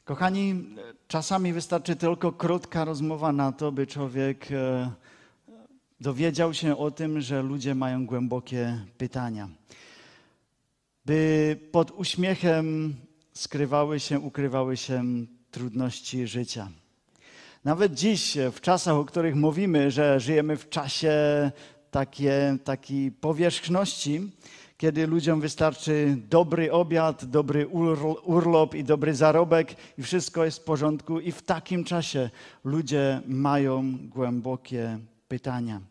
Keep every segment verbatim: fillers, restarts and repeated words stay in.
Kochani, czasami wystarczy tylko krótka rozmowa na to, by człowiek dowiedział się o tym, że ludzie mają głębokie pytania. By pod uśmiechem skrywały się, ukrywały się trudności życia. Nawet dziś, w czasach, o których mówimy, że żyjemy w czasie takie, takiej powierzchności, kiedy ludziom wystarczy dobry obiad, dobry urlop i dobry zarobek i wszystko jest w porządku. I w takim czasie ludzie mają głębokie pytania.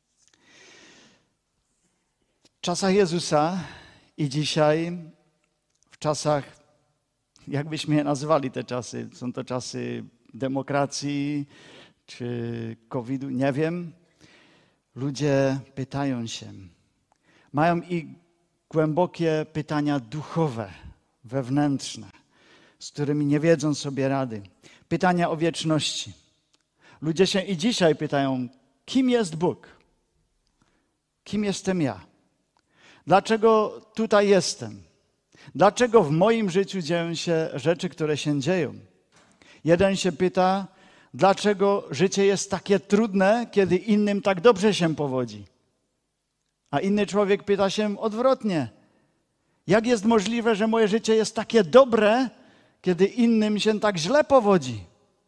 W czasach Jezusa i dzisiaj, w czasach, jak byśmy je nazwali te czasy, są to czasy demokracji czy kowida, nie wiem, ludzie pytają się, mają i głębokie pytania duchowe, wewnętrzne, z którymi nie wiedzą sobie rady. Pytania o wieczności. Ludzie się i dzisiaj pytają, kim jest Bóg? Kim jestem ja? Dlaczego tutaj jestem? Dlaczego w moim życiu dzieją się rzeczy, które się dzieją? Jeden się pyta, dlaczego życie jest takie trudne, kiedy innym tak dobrze się powodzi? A inny człowiek pyta się odwrotnie. Jak jest możliwe, że moje życie jest takie dobre, kiedy innym się tak źle powodzi?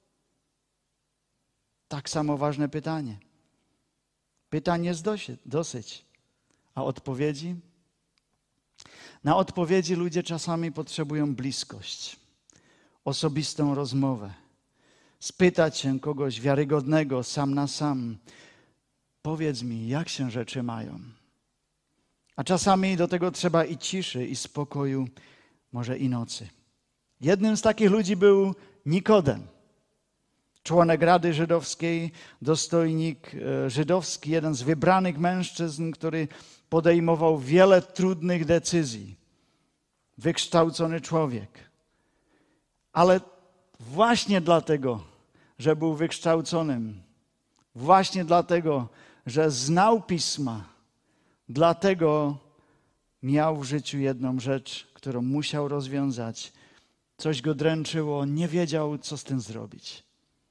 Tak samo ważne pytanie. Pytań jest dosyć. A odpowiedzi? Na odpowiedzi ludzie czasami potrzebują bliskość, osobistą rozmowę. Spytać się kogoś wiarygodnego sam na sam. Powiedz mi, jak się rzeczy mają? A czasami do tego trzeba i ciszy, i spokoju, może i nocy. Jednym z takich ludzi był Nikodem, członek Rady Żydowskiej, dostojnik żydowski, jeden z wybranych mężczyzn, który podejmował wiele trudnych decyzji. Wykształcony człowiek. Ale właśnie dlatego, że był wykształconym, właśnie dlatego, że znał Pisma, dlatego miał w życiu jedną rzecz, którą musiał rozwiązać. Coś go dręczyło, nie wiedział, co z tym zrobić.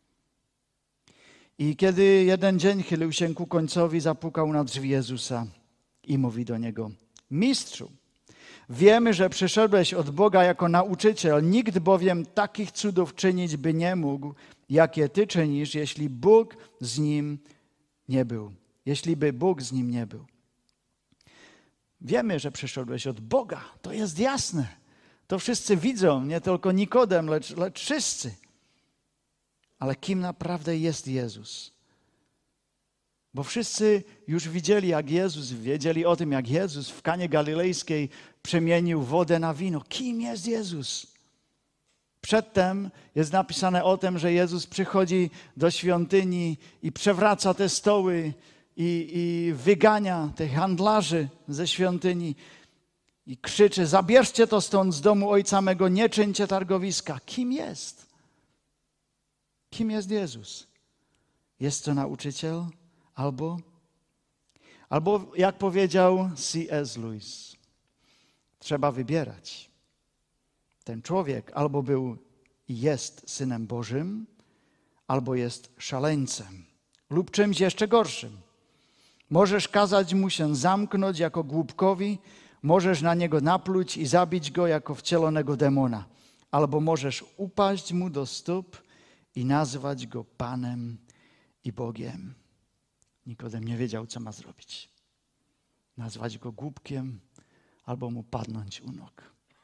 I kiedy jeden dzień chylił się ku końcowi, zapukał na drzwi Jezusa i mówi do Niego, Mistrzu, wiemy, że przyszedłeś od Boga jako nauczyciel, nikt bowiem takich cudów czynić by nie mógł, jakie Ty czynisz, jeśli Bóg z nim nie był. Jeśli by Bóg z nim nie był. Wiemy, że przyszedłeś od Boga. To jest jasne. To wszyscy widzą, nie tylko Nikodem, lecz, lecz wszyscy. Ale kim naprawdę jest Jezus? Bo wszyscy już widzieli, jak Jezus, wiedzieli o tym, jak Jezus w Kanie Galilejskiej przemienił wodę na wino. Kim jest Jezus? Przedtem jest napisane o tym, że Jezus przychodzi do świątyni i przewraca te stoły i, i wygania tych handlarzy ze świątyni i krzyczy, zabierzcie to stąd z domu Ojca mego, nie czyńcie targowiska. Kim jest? Kim jest Jezus? Jest to nauczyciel? Albo, albo jak powiedział C S Lewis, trzeba wybierać. Ten człowiek albo był i jest Synem Bożym, albo jest szaleńcem lub czymś jeszcze gorszym. Możesz kazać mu się zamknąć jako głupkowi, możesz na niego napluć i zabić go jako wcielonego demona, albo możesz upaść mu do stóp i nazwać go Panem i Bogiem. Nikodem nie wiedział, co ma zrobić. Nazwać go głupkiem albo mu padnąć u nóg.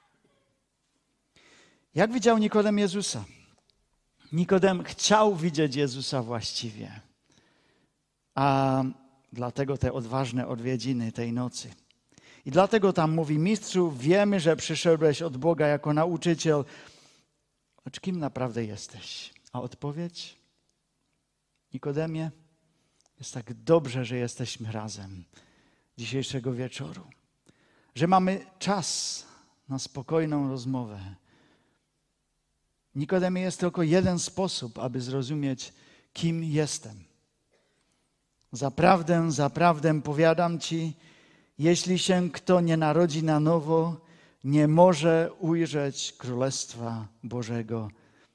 Jak widział Nikodem Jezusa? Nikodem chciał widzieć Jezusa właściwie. A dlatego te odważne odwiedziny tej nocy. I dlatego tam mówi, Mistrzu, wiemy, że przyszedłeś od Boga jako nauczyciel. Lecz kim naprawdę jesteś? A odpowiedź? Nikodemie, jest tak dobrze, że jesteśmy razem dzisiejszego wieczoru. Że mamy czas na spokojną rozmowę. Nikodemie, jest tylko jeden sposób, aby zrozumieć, kim jestem. Zaprawdę, zaprawdę powiadam Ci, jeśli się kto nie narodzi na nowo, nie może ujrzeć Królestwa Bożego.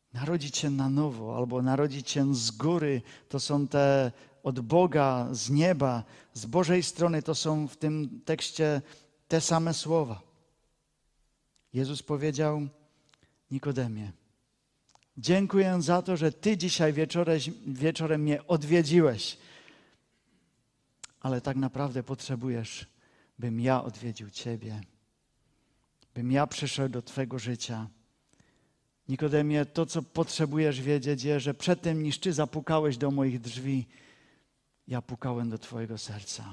Narodzić się na nowo albo narodzić się z góry, to są te od Boga, z nieba, z Bożej strony, to są w tym tekście te same słowa. Jezus powiedział: Nikodemie, dziękuję za to, że Ty dzisiaj wieczorem, wieczorem mnie odwiedziłeś, ale tak naprawdę potrzebujesz, bym ja odwiedził Ciebie, bym ja przyszedł do Twego życia. Nikodemie, to, co potrzebujesz wiedzieć, jest, że przed tym, niż Ty zapukałeś do moich drzwi, ja pukałem do Twojego serca.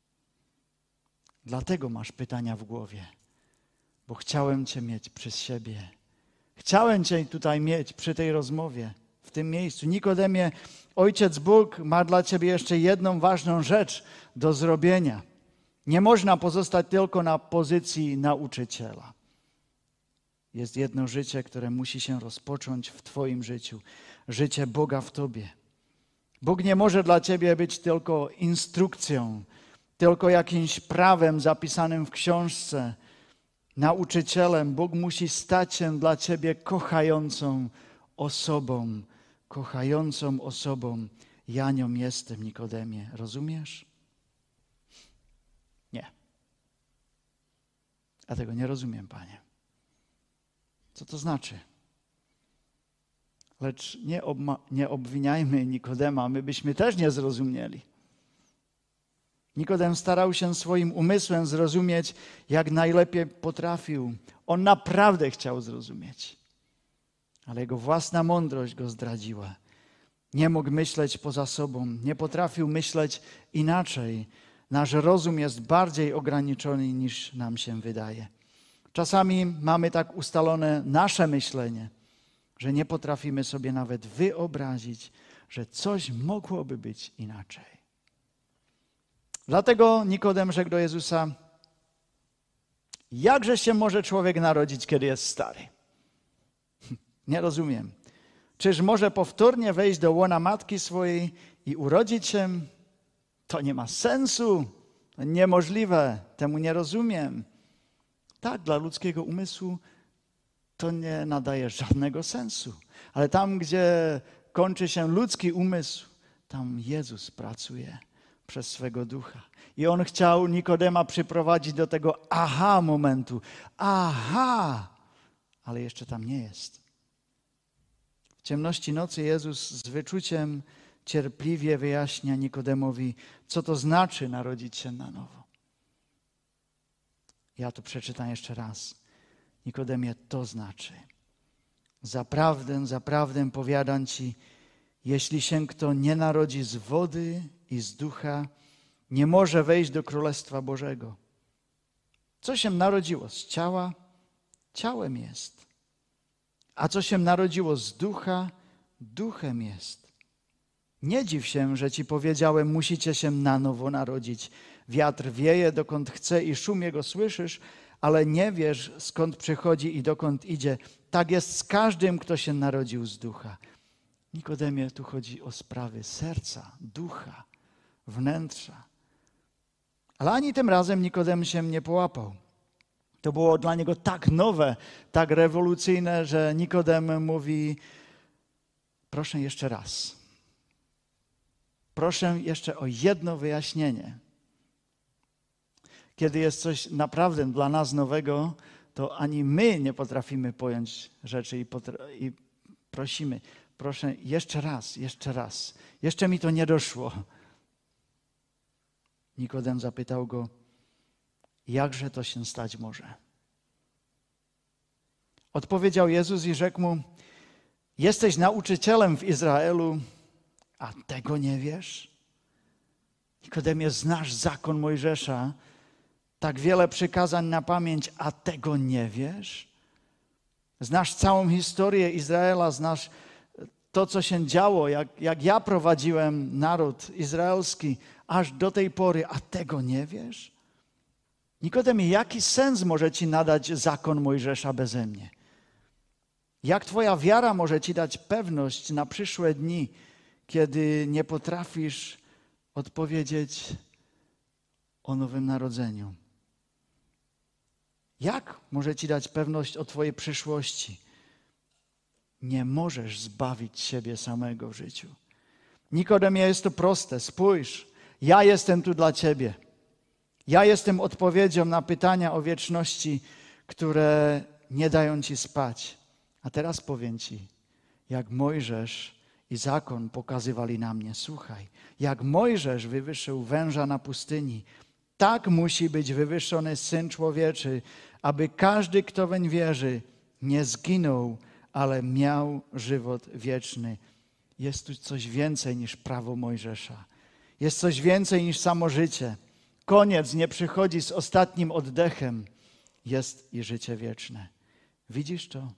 Dlatego masz pytania w głowie, bo chciałem Cię mieć przy siebie. Chciałem Cię tutaj mieć przy tej rozmowie, w tym miejscu. Nikodemie, Ojciec Bóg ma dla Ciebie jeszcze jedną ważną rzecz do zrobienia. Nie można pozostać tylko na pozycji nauczyciela. Jest jedno życie, które musi się rozpocząć w Twoim życiu. Życie Boga w Tobie. Bóg nie może dla Ciebie być tylko instrukcją, tylko jakimś prawem zapisanym w książce, nauczycielem. Bóg musi stać się dla Ciebie kochającą osobą, kochającą osobą. Ja nią jestem, Nikodemie. Rozumiesz? Nie. Ja tego nie rozumiem, Panie. Co to znaczy? Lecz nie, obma- nie obwiniajmy Nikodema, my byśmy też nie zrozumieli. Nikodem starał się swoim umysłem zrozumieć, jak najlepiej potrafił. On naprawdę chciał zrozumieć, ale jego własna mądrość go zdradziła. Nie mógł myśleć poza sobą, nie potrafił myśleć inaczej. Nasz rozum jest bardziej ograniczony, niż nam się wydaje. Czasami mamy tak ustalone nasze myślenie, że nie potrafimy sobie nawet wyobrazić, że coś mogłoby być inaczej. Dlatego Nikodem rzekł do Jezusa: jakże się może człowiek narodzić, kiedy jest stary? Nie rozumiem. Czyż może powtórnie wejść do łona matki swojej i urodzić się? To nie ma sensu. To niemożliwe. Temu nie rozumiem. Tak, dla ludzkiego umysłu to nie nadaje żadnego sensu. Ale tam, gdzie kończy się ludzki umysł, tam Jezus pracuje przez swego Ducha. I On chciał Nikodema przyprowadzić do tego aha momentu. Aha! Ale jeszcze tam nie jest. W ciemności nocy Jezus z wyczuciem cierpliwie wyjaśnia Nikodemowi, co to znaczy narodzić się na nowo. Ja to przeczytam jeszcze raz. Nikodemie, to znaczy: zaprawdę, zaprawdę powiadam Ci, jeśli się kto nie narodzi z wody i z ducha, nie może wejść do Królestwa Bożego. Co się narodziło z ciała, ciałem jest. A co się narodziło z ducha, duchem jest. Nie dziw się, że Ci powiedziałem, musicie się na nowo narodzić. Wiatr wieje, dokąd chce i szum jego słyszysz, ale nie wiesz, skąd przychodzi i dokąd idzie. Tak jest z każdym, kto się narodził z ducha. Nikodemie, tu chodzi o sprawy serca, ducha, wnętrza. Ale ani tym razem Nikodem się nie połapał. To było dla niego tak nowe, tak rewolucyjne, że Nikodem mówi: proszę jeszcze raz. Proszę jeszcze o jedno wyjaśnienie. Kiedy jest coś naprawdę dla nas nowego, to ani my nie potrafimy pojąć rzeczy i, potra- i prosimy: proszę jeszcze raz, jeszcze raz. Jeszcze mi to nie doszło. Nikodem zapytał go: jakże to się stać może? Odpowiedział Jezus i rzekł mu: jesteś nauczycielem w Izraelu, a tego nie wiesz? Nikodemie, znasz zakon Mojżesza, tak wiele przykazań na pamięć, a tego nie wiesz? Znasz całą historię Izraela, znasz to, co się działo, jak, jak ja prowadziłem naród izraelski aż do tej pory, a tego nie wiesz? Nikodemie, jaki sens może Ci nadać zakon Mojżesza beze mnie? Jak Twoja wiara może Ci dać pewność na przyszłe dni, kiedy nie potrafisz odpowiedzieć o nowym narodzeniu? Jak może Ci dać pewność o Twojej przyszłości? nie możesz zbawić siebie samego w życiu. Nikodemie, jest to proste. Spójrz, ja jestem tu dla ciebie. Ja jestem odpowiedzią na pytania o wieczności, które nie dają ci spać. A teraz powiem ci, jak Mojżesz i zakon pokazywali na mnie. Słuchaj, jak Mojżesz wywyższył węża na pustyni, tak musi być wywyższony Syn Człowieczy, aby każdy, kto weń wierzy, nie zginął, ale miał żywot wieczny. Jest tu coś więcej niż prawo Mojżesza. Jest coś więcej niż samo życie. Koniec nie przychodzi z ostatnim oddechem. Jest i życie wieczne. Widzisz to?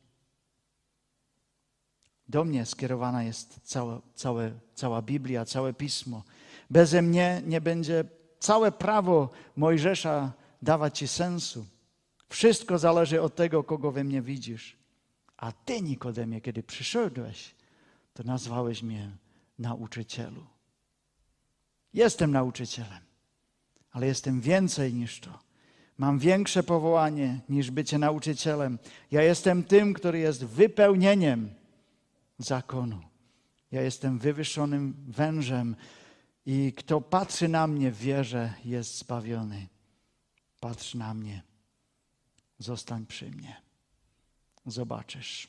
Do mnie skierowana jest cała, całe, cała Biblia, całe Pismo. Beze mnie nie będzie całe prawo Mojżesza dawać ci sensu. Wszystko zależy od tego, kogo we mnie widzisz. A ty, Nikodemie, kiedy przyszedłeś, to nazwałeś mnie nauczycielu. Jestem nauczycielem, ale jestem więcej niż to. Mam większe powołanie niż bycie nauczycielem. Ja jestem tym, który jest wypełnieniem zakonu. Ja jestem wywyższonym wężem i kto patrzy na mnie w wierze, jest zbawiony. Patrz na mnie. Zostań przy mnie. Zobaczysz.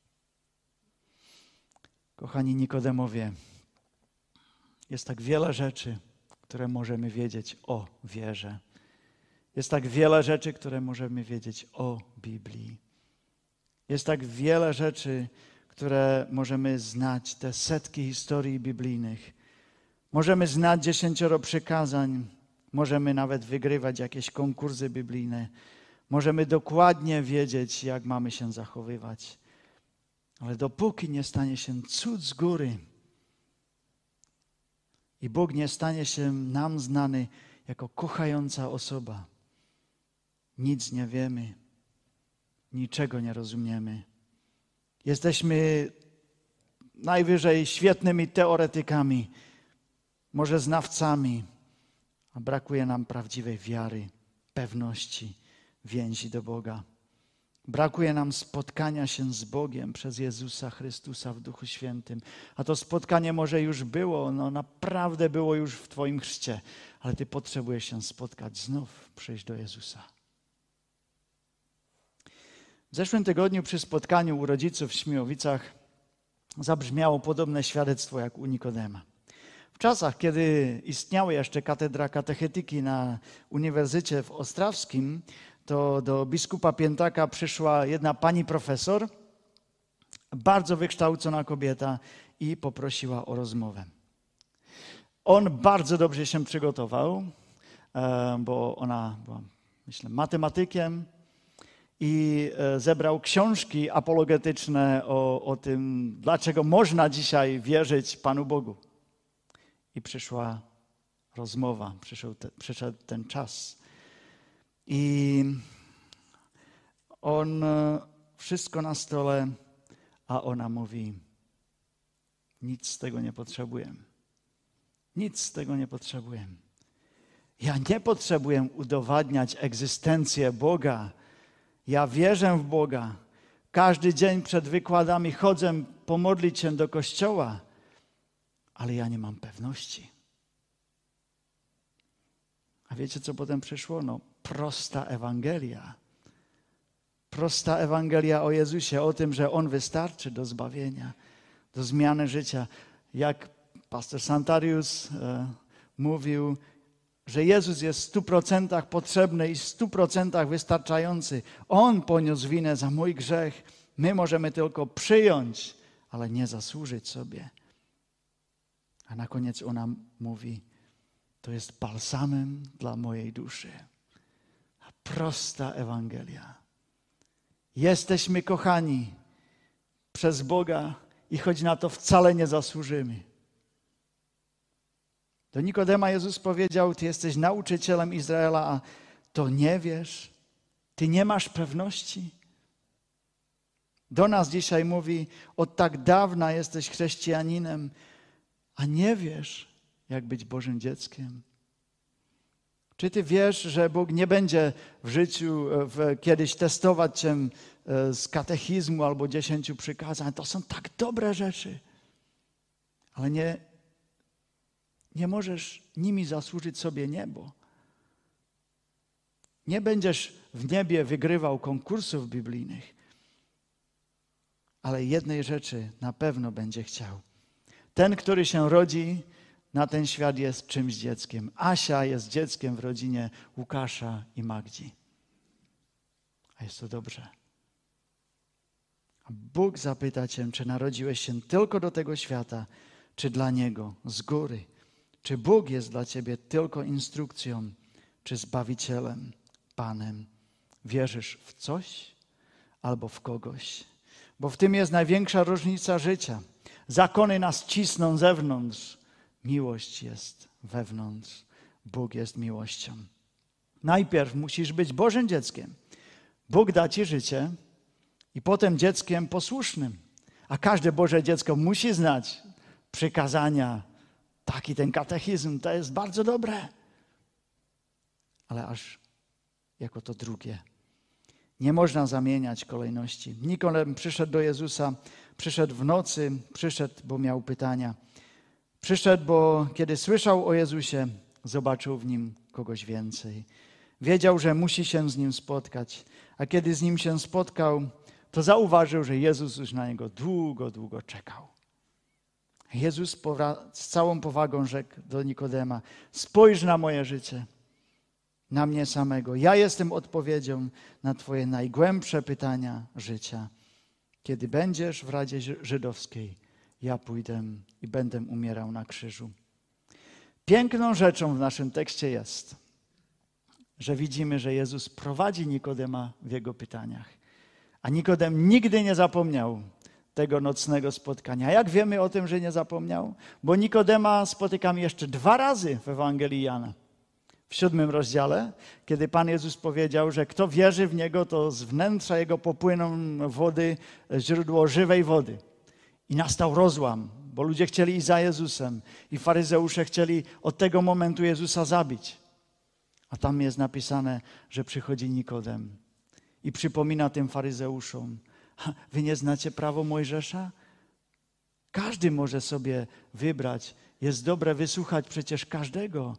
Kochani Nikodemowie, jest tak wiele rzeczy, które możemy wiedzieć o wierze. Jest tak wiele rzeczy, które możemy wiedzieć o Biblii. Jest tak wiele rzeczy, które możemy znać, te setki historii biblijnych. Możemy znać dziesięcioro przykazań, możemy nawet wygrywać jakieś konkursy biblijne. Możemy dokładnie wiedzieć, jak mamy się zachowywać. Ale dopóki nie stanie się cud z góry i Bóg nie stanie się nam znany jako kochająca osoba, nic nie wiemy, niczego nie rozumiemy. Jesteśmy najwyżej świetnymi teoretykami, może znawcami, a brakuje nam prawdziwej wiary, pewności, więzi do Boga. Brakuje nam spotkania się z Bogiem przez Jezusa Chrystusa w Duchu Świętym. A to spotkanie może już było, no naprawdę było już w Twoim chrzcie, ale Ty potrzebujesz się spotkać znów, przyjść do Jezusa. W zeszłym tygodniu przy spotkaniu u rodziców w Śmiłowicach zabrzmiało podobne świadectwo jak u Nikodema. W czasach, kiedy istniała jeszcze katedra katechetyki na Uniwersytecie w Ostrawskim, to do biskupa Piętaka przyszła jedna pani profesor, bardzo wykształcona kobieta i poprosiła o rozmowę. On bardzo dobrze się przygotował, bo ona była, myślę, matematykiem i zebrał książki apologetyczne o, o tym, dlaczego można dzisiaj wierzyć Panu Bogu. I przyszła rozmowa, przyszedł, te, przyszedł ten czas. I on wszystko na stole, a ona mówi, nic z tego nie potrzebuję. Nic z tego nie potrzebuję. Ja nie potrzebuję udowadniać egzystencję Boga. Ja wierzę w Boga. Każdy dzień przed wykładami chodzę pomodlić się do kościoła, ale ja nie mam pewności. A wiecie, co potem przyszło? No, prosta Ewangelia. Prosta Ewangelia o Jezusie, o tym, że On wystarczy do zbawienia, do zmiany życia. Jak pastor Santarius e, mówił, że Jezus jest w stu procentach potrzebny i w stu procentach wystarczający. On poniósł winę za mój grzech. My możemy tylko przyjąć, ale nie zasłużyć sobie. A na koniec ona mówi, to jest balsamem dla mojej duszy. Prosta Ewangelia. Jesteśmy kochani przez Boga i choć na to wcale nie zasłużymy. Do Nikodema Jezus powiedział, ty jesteś nauczycielem Izraela, a to nie wiesz, ty nie masz pewności. Do nas dzisiaj mówi, od tak dawna jesteś chrześcijaninem, a nie wiesz, jak być Bożym dzieckiem. Czy ty wiesz, że Bóg nie będzie w życiu w, kiedyś testować cię z katechizmu albo dziesięciu przykazań? To są tak dobre rzeczy, ale nie, nie możesz nimi zasłużyć sobie niebo. Nie będziesz w niebie wygrywał konkursów biblijnych, ale jednej rzeczy na pewno będzie chciał. Ten, który się rodzi na ten świat, jest czymś dzieckiem. Asia jest dzieckiem w rodzinie Łukasza i Magdzi. A jest to dobrze. A Bóg zapyta cię, czy narodziłeś się tylko do tego świata, czy dla Niego z góry. Czy Bóg jest dla ciebie tylko instrukcją, czy Zbawicielem, Panem. Wierzysz w coś albo w kogoś. Bo w tym jest największa różnica życia. Zakony nas cisną z zewnątrz. Miłość jest wewnątrz. Bóg jest miłością. Najpierw musisz być Bożym dzieckiem. Bóg da ci życie i potem dzieckiem posłusznym. A każde Boże dziecko musi znać przykazania. Taki ten katechizm, to jest bardzo dobre. Ale aż jako to drugie. Nie można zamieniać kolejności. Nikodem przyszedł do Jezusa, przyszedł w nocy, przyszedł, bo miał pytania. Przyszedł, bo kiedy słyszał o Jezusie, zobaczył w Nim kogoś więcej. Wiedział, że musi się z Nim spotkać, a kiedy z Nim się spotkał, to zauważył, że Jezus już na Niego długo, długo czekał. Jezus z całą powagą rzekł do Nikodema: spójrz na moje życie, na mnie samego. Ja jestem odpowiedzią na twoje najgłębsze pytania życia. Kiedy będziesz w Radzie Żydowskiej, ja pójdę i będę umierał na krzyżu. Piękną rzeczą w naszym tekście jest, że widzimy, że Jezus prowadzi Nikodema w jego pytaniach. A Nikodem nigdy nie zapomniał tego nocnego spotkania. Jak wiemy o tym, że nie zapomniał? Bo Nikodema spotykamy jeszcze dwa razy w Ewangelii Jana. W siódmym rozdziale, kiedy Pan Jezus powiedział, że kto wierzy w Niego, to z wnętrza Jego popłyną wody, źródło żywej wody. I nastał rozłam, bo ludzie chcieli iść za Jezusem i faryzeusze chcieli od tego momentu Jezusa zabić. A tam jest napisane, że przychodzi Nikodem i przypomina tym faryzeuszom: wy nie znacie prawo Mojżesza? Każdy może sobie wybrać. Jest dobre wysłuchać przecież każdego.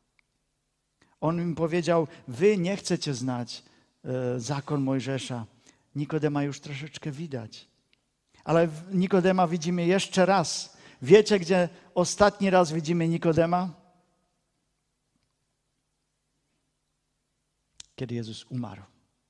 On im powiedział: wy nie chcecie znać e, zakon Mojżesza. Nikodema już troszeczkę widać. Ale Nikodema widzimy jeszcze raz. Wiecie, gdzie ostatni raz widzimy Nikodema? Kiedy Jezus umarł.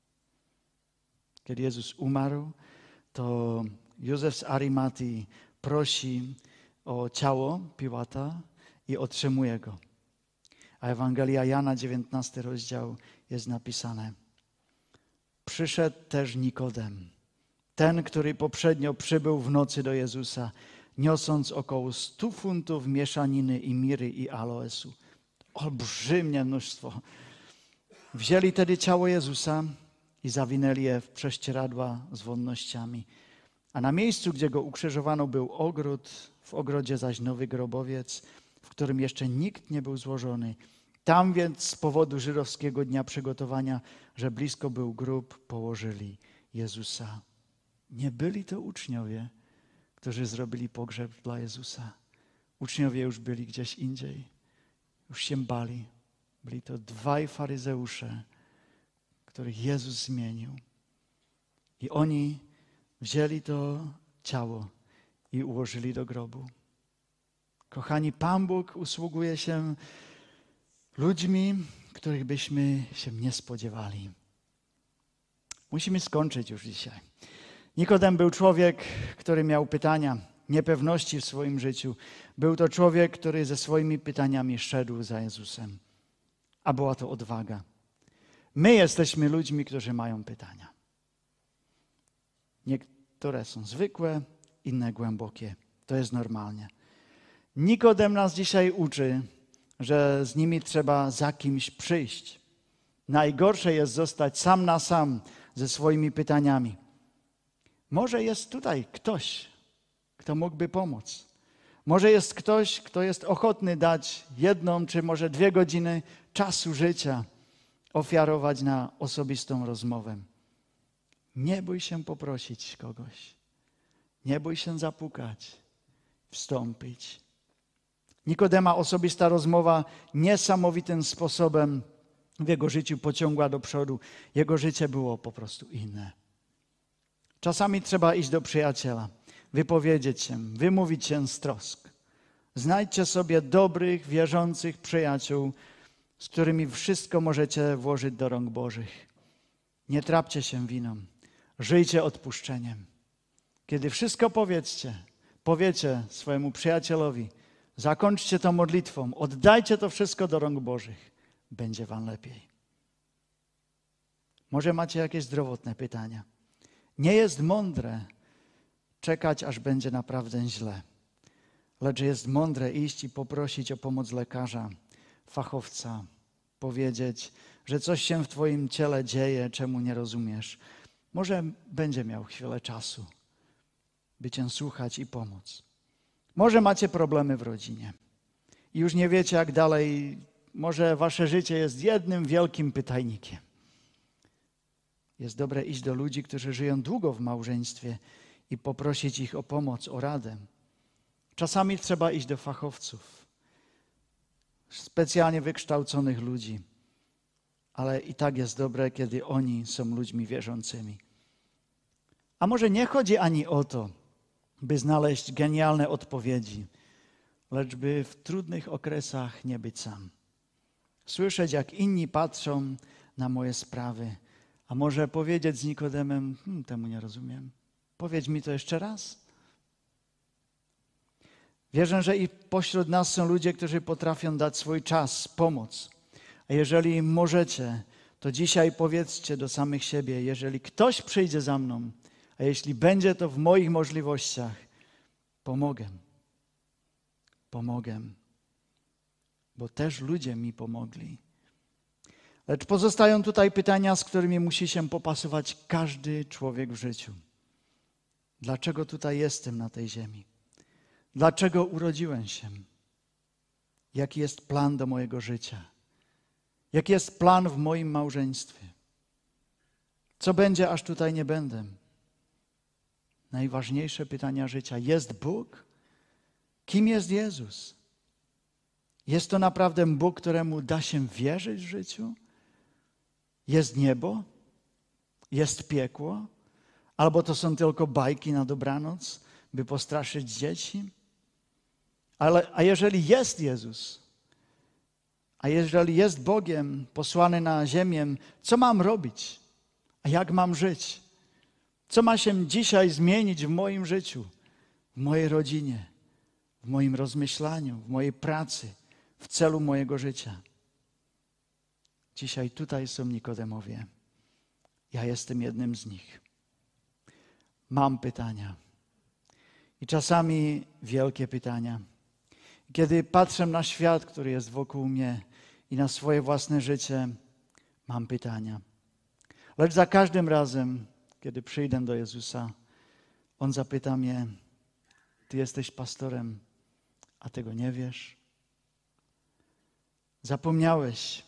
Kiedy Jezus umarł, to Józef z Arimatii prosi o ciało Piłata i otrzymuje go. A Ewangelia Jana, dziewiętnasty rozdział, jest napisane: przyszedł też Nikodem, ten, który poprzednio przybył w nocy do Jezusa, niosąc około stu funtów mieszaniny i miry i aloesu. Olbrzymie mnóstwo. Wzięli tedy ciało Jezusa i zawinęli je w prześcieradła z wonnościami. A na miejscu, gdzie go ukrzyżowano, był ogród, w ogrodzie zaś nowy grobowiec, w którym jeszcze nikt nie był złożony. Tam więc z powodu żydowskiego dnia przygotowania, że blisko był grób, położyli Jezusa. Nie byli to uczniowie, którzy zrobili pogrzeb dla Jezusa. Uczniowie już byli gdzieś indziej. Już się bali. Byli to dwaj faryzeusze, których Jezus zmienił. I oni wzięli to ciało i ułożyli do grobu. Kochani, Pan Bóg usługuje się ludźmi, których byśmy się nie spodziewali. Musimy skończyć już dzisiaj. Nikodem był człowiek, który miał pytania, niepewności w swoim życiu. Był to człowiek, który ze swoimi pytaniami szedł za Jezusem. A była to odwaga. My jesteśmy ludźmi, którzy mają pytania. Niektóre są zwykłe, inne głębokie. To jest normalnie. Nikodem nas dzisiaj uczy, że z nimi trzeba za kimś przyjść. Najgorsze jest zostać sam na sam ze swoimi pytaniami. Może jest tutaj ktoś, kto mógłby pomóc. Może jest ktoś, kto jest ochotny dać jedną czy może dwie godziny czasu życia, ofiarować na osobistą rozmowę. Nie bój się poprosić kogoś. Nie bój się zapukać, wstąpić. Nikodema osobista rozmowa niesamowitym sposobem w jego życiu pociągła do przodu. Jego życie było po prostu inne. Czasami trzeba iść do przyjaciela, wypowiedzieć się, wymówić się z trosk. Znajdźcie sobie dobrych, wierzących przyjaciół, z którymi wszystko możecie włożyć do rąk Bożych. Nie trapcie się winą. Żyjcie odpuszczeniem. Kiedy wszystko powiedzcie, powiecie swojemu przyjacielowi, zakończcie to modlitwą, oddajcie to wszystko do rąk Bożych. Będzie wam lepiej. Może macie jakieś zdrowotne pytania. Nie jest mądre czekać, aż będzie naprawdę źle. Lecz jest mądre iść i poprosić o pomoc lekarza, fachowca, powiedzieć, że coś się w twoim ciele dzieje, czemu nie rozumiesz. Może będzie miał chwilę czasu, by cię słuchać i pomóc. Może macie problemy w rodzinie i już nie wiecie, jak dalej. Może wasze życie jest jednym wielkim pytajnikiem. Jest dobre iść do ludzi, którzy żyją długo w małżeństwie i poprosić ich o pomoc, o radę. Czasami trzeba iść do fachowców, specjalnie wykształconych ludzi, ale i tak jest dobre, kiedy oni są ludźmi wierzącymi. A może nie chodzi ani o to, by znaleźć genialne odpowiedzi, lecz by w trudnych okresach nie być sam. Słyszeć, jak inni patrzą na moje sprawy, a może powiedzieć z Nikodemem, hm, temu nie rozumiem. Powiedz mi to jeszcze raz. Wierzę, że i pośród nas są ludzie, którzy potrafią dać swój czas, pomoc. A jeżeli możecie, to dzisiaj powiedzcie do samych siebie, jeżeli ktoś przyjdzie za mną, a jeśli będzie to w moich możliwościach, pomogę. Pomogę. Bo też ludzie mi pomogli. Lecz pozostają tutaj pytania, z którymi musi się popasować każdy człowiek w życiu. Dlaczego tutaj jestem na tej ziemi? Dlaczego urodziłem się? Jaki jest plan do mojego życia? Jaki jest plan w moim małżeństwie? Co będzie, aż tutaj nie będę? Najważniejsze pytania życia. Jest Bóg? Kim jest Jezus? Jest to naprawdę Bóg, któremu da się wierzyć w życiu? Jest niebo? Jest piekło? Albo to są tylko bajki na dobranoc, by postraszyć dzieci? Ale, a jeżeli jest Jezus, a jeżeli jest Bogiem posłany na ziemię, co mam robić? A jak mam żyć? Co ma się dzisiaj zmienić w moim życiu, w mojej rodzinie, w moim rozmyślaniu, w mojej pracy, w celu mojego życia? Dzisiaj tutaj są Nikodemowie. Ja jestem jednym z nich. Mam pytania. I czasami wielkie pytania. Kiedy patrzę na świat, który jest wokół mnie i na swoje własne życie, mam pytania. Lecz za każdym razem, kiedy przyjdę do Jezusa, On zapyta mnie, ty jesteś pastorem, a tego nie wiesz? Zapomniałeś,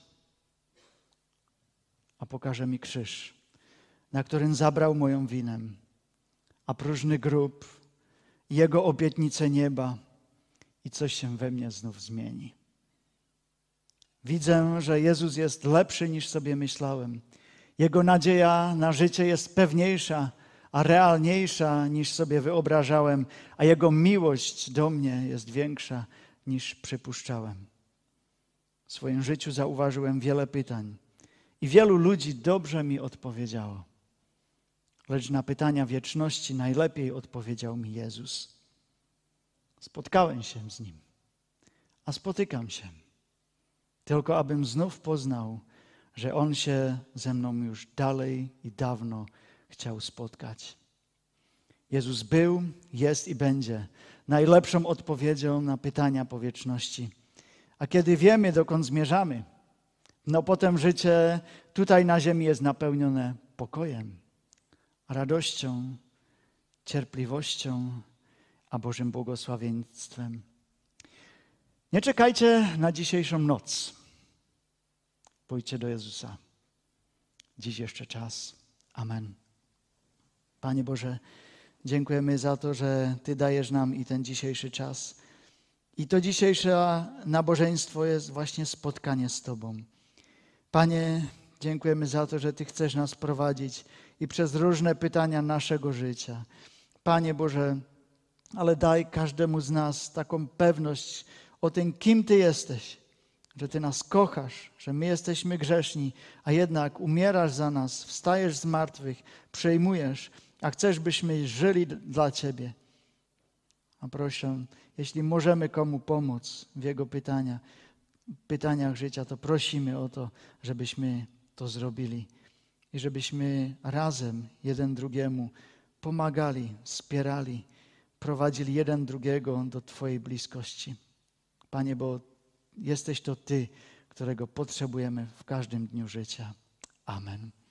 a pokaże mi krzyż, na którym zabrał moją winę, a próżny grób, Jego obietnice nieba i coś się we mnie znów zmieni. Widzę, że Jezus jest lepszy niż sobie myślałem. Jego nadzieja na życie jest pewniejsza, a realniejsza niż sobie wyobrażałem, a Jego miłość do mnie jest większa niż przypuszczałem. W swoim życiu zauważyłem wiele pytań i wielu ludzi dobrze mi odpowiedziało. Lecz na pytania wieczności najlepiej odpowiedział mi Jezus. Spotkałem się z Nim, a spotykam się, tylko abym znów poznał, że On się ze mną już dalej i dawno chciał spotkać. Jezus był, jest i będzie najlepszą odpowiedzią na pytania po wieczności. A kiedy wiemy, dokąd zmierzamy, no potem życie tutaj na ziemi jest napełnione pokojem, radością, cierpliwością, a Bożym błogosławieństwem. Nie czekajcie na dzisiejszą noc. Pójdźcie do Jezusa. Dziś jeszcze czas. Amen. Panie Boże, dziękujemy za to, że Ty dajesz nam i ten dzisiejszy czas. I to dzisiejsze nabożeństwo jest właśnie spotkanie z Tobą. Panie, dziękujemy za to, że Ty chcesz nas prowadzić i przez różne pytania naszego życia. Panie Boże, ale daj każdemu z nas taką pewność o tym, kim Ty jesteś, że Ty nas kochasz, że my jesteśmy grzeszni, a jednak umierasz za nas, wstajesz z martwych, przejmujesz, a chcesz, byśmy żyli dla Ciebie. A proszę, jeśli możemy komu pomóc w jego pytania, pytaniach życia, to prosimy o to, żebyśmy to zrobili i żebyśmy razem jeden drugiemu pomagali, wspierali, prowadzili jeden drugiego do Twojej bliskości. Panie, bo jesteś to Ty, którego potrzebujemy w każdym dniu życia. Amen.